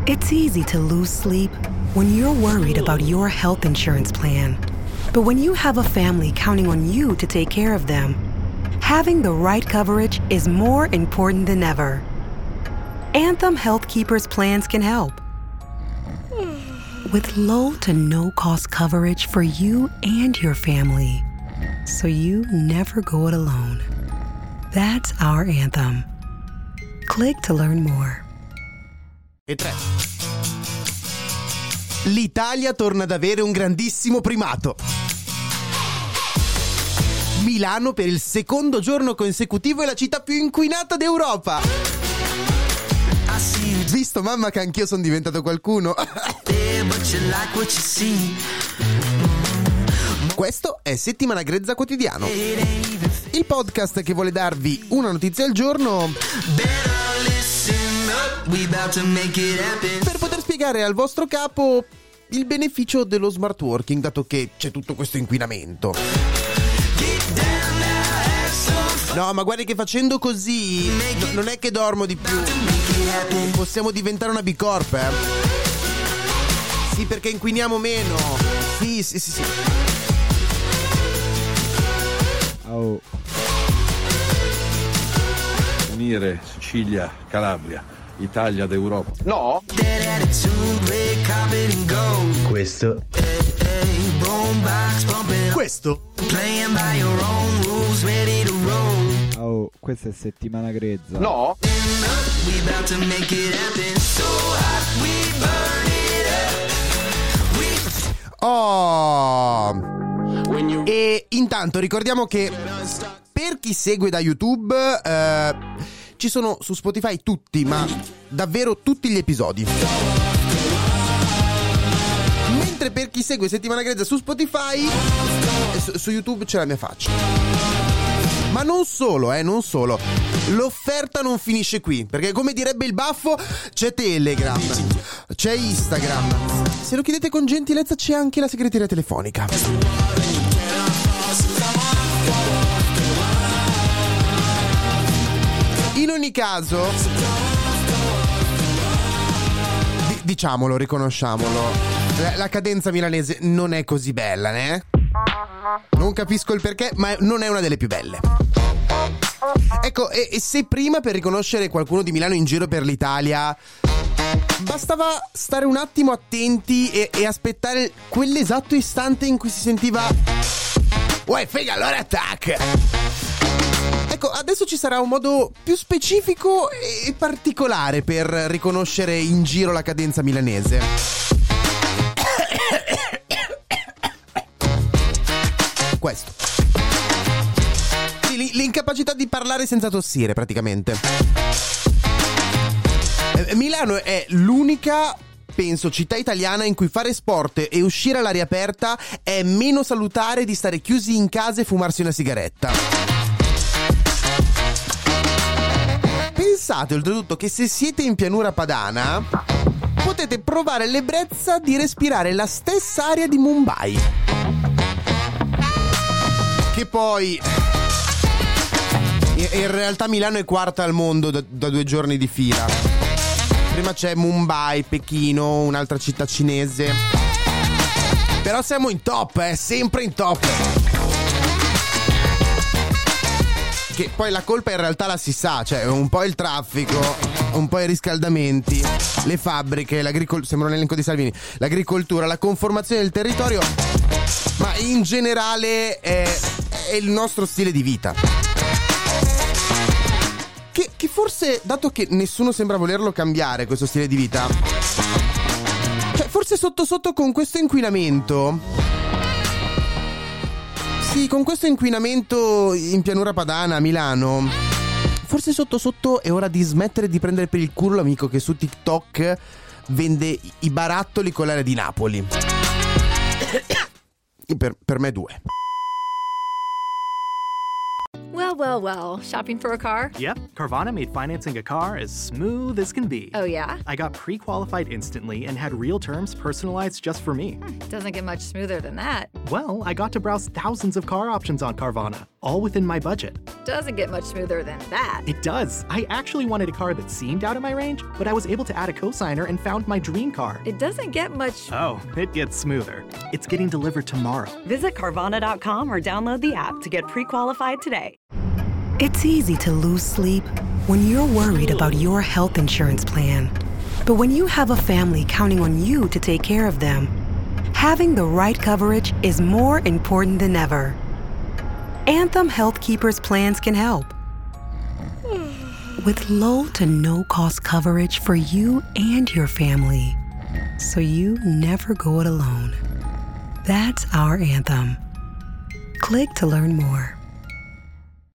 It's easy to lose sleep when you're worried about your health insurance plan. But when you have a family counting on you to take care of them, having the right coverage is more important than ever. Anthem Health Keepers plans can help. With low to no cost coverage for you and your family, so you never go it alone. That's our Anthem. Click to learn more. E 3. L'Italia torna ad avere un grandissimo primato. Milano per il secondo giorno consecutivo è la città più inquinata d'Europa. Visto mamma che anch'io sono diventato qualcuno. Questo è Settimana Grezza Quotidiano, il podcast che vuole darvi una notizia al giorno per poter spiegare al vostro capo il beneficio dello smart working, dato che c'è tutto questo inquinamento. No, ma guardi che facendo così non è che dormo di più. Possiamo diventare una B Corp, eh? Sì, perché inquiniamo meno. Sì. Oh. Unire Sicilia, Calabria, Italia d'Europa. No? Questo Oh, questa è Settimana Grezza. No? Oh! E intanto ricordiamo che per chi segue da YouTube ci sono su Spotify tutti, ma davvero tutti gli episodi. Mentre per chi segue Settimana Grezza su Spotify, su YouTube c'è la mia faccia. Ma non solo, non solo. L'offerta non finisce qui, perché come direbbe il baffo, c'è Telegram, c'è Instagram. Se lo chiedete con gentilezza c'è anche la segreteria telefonica. In ogni caso, diciamolo, riconosciamolo, la cadenza milanese non è così bella, né? Non capisco il perché, ma non è una delle più belle. Ecco, e se prima per riconoscere qualcuno di Milano in giro per l'Italia bastava stare un attimo attenti e aspettare quell'esatto istante in cui si sentiva "Uè, figa, allora attack!" Ecco, adesso ci sarà un modo più specifico e particolare per riconoscere in giro la cadenza milanese. Questo. Sì, l'incapacità di parlare senza tossire, praticamente. Milano è l'unica, penso, città italiana in cui fare sport e uscire all'aria aperta è meno salutare di stare chiusi in casa e fumarsi una sigaretta. Pensate oltretutto che se siete in pianura padana potete provare l'ebbrezza di respirare la stessa aria di Mumbai. Che poi in realtà Milano è quarta al mondo da 2 giorni di fila. Prima c'è Mumbai, Pechino, un'altra città cinese. Però siamo in top, sempre in top. Che poi la colpa in realtà la si sa, cioè un po' il traffico, un po' i riscaldamenti, le fabbriche, sembra un elenco di Salvini, l'agricoltura, la conformazione del territorio, ma in generale è il nostro stile di vita. Che forse, dato che nessuno sembra volerlo cambiare questo stile di vita, cioè forse sotto sotto con questo inquinamento, sì, con questo inquinamento in pianura padana a Milano, forse sotto sotto è ora di smettere di prendere per il culo l'amico che su TikTok vende i barattoli con l'aria di Napoli. Per me 2. Well, shopping for a car? Yep, Carvana made financing a car as smooth as can be. Oh, yeah? I got pre-qualified instantly and had real terms personalized just for me. Doesn't get much smoother than that. Well, I got to browse thousands of car options on Carvana. all within my budget. Doesn't get much smoother than that. It does. I actually wanted a car that seemed out of my range, but I was able to add a cosigner and found my dream car. It doesn't get much. Oh, it gets smoother. It's getting delivered tomorrow. Visit Carvana.com or download the app to get pre-qualified today. It's easy to lose sleep when you're worried about your health insurance plan. But when you have a family counting on you to take care of them, having the right coverage is more important than ever. Anthem Health Keepers plans can help. With low to no cost coverage for you and your family, so you never go it alone. That's our Anthem. Click to learn more.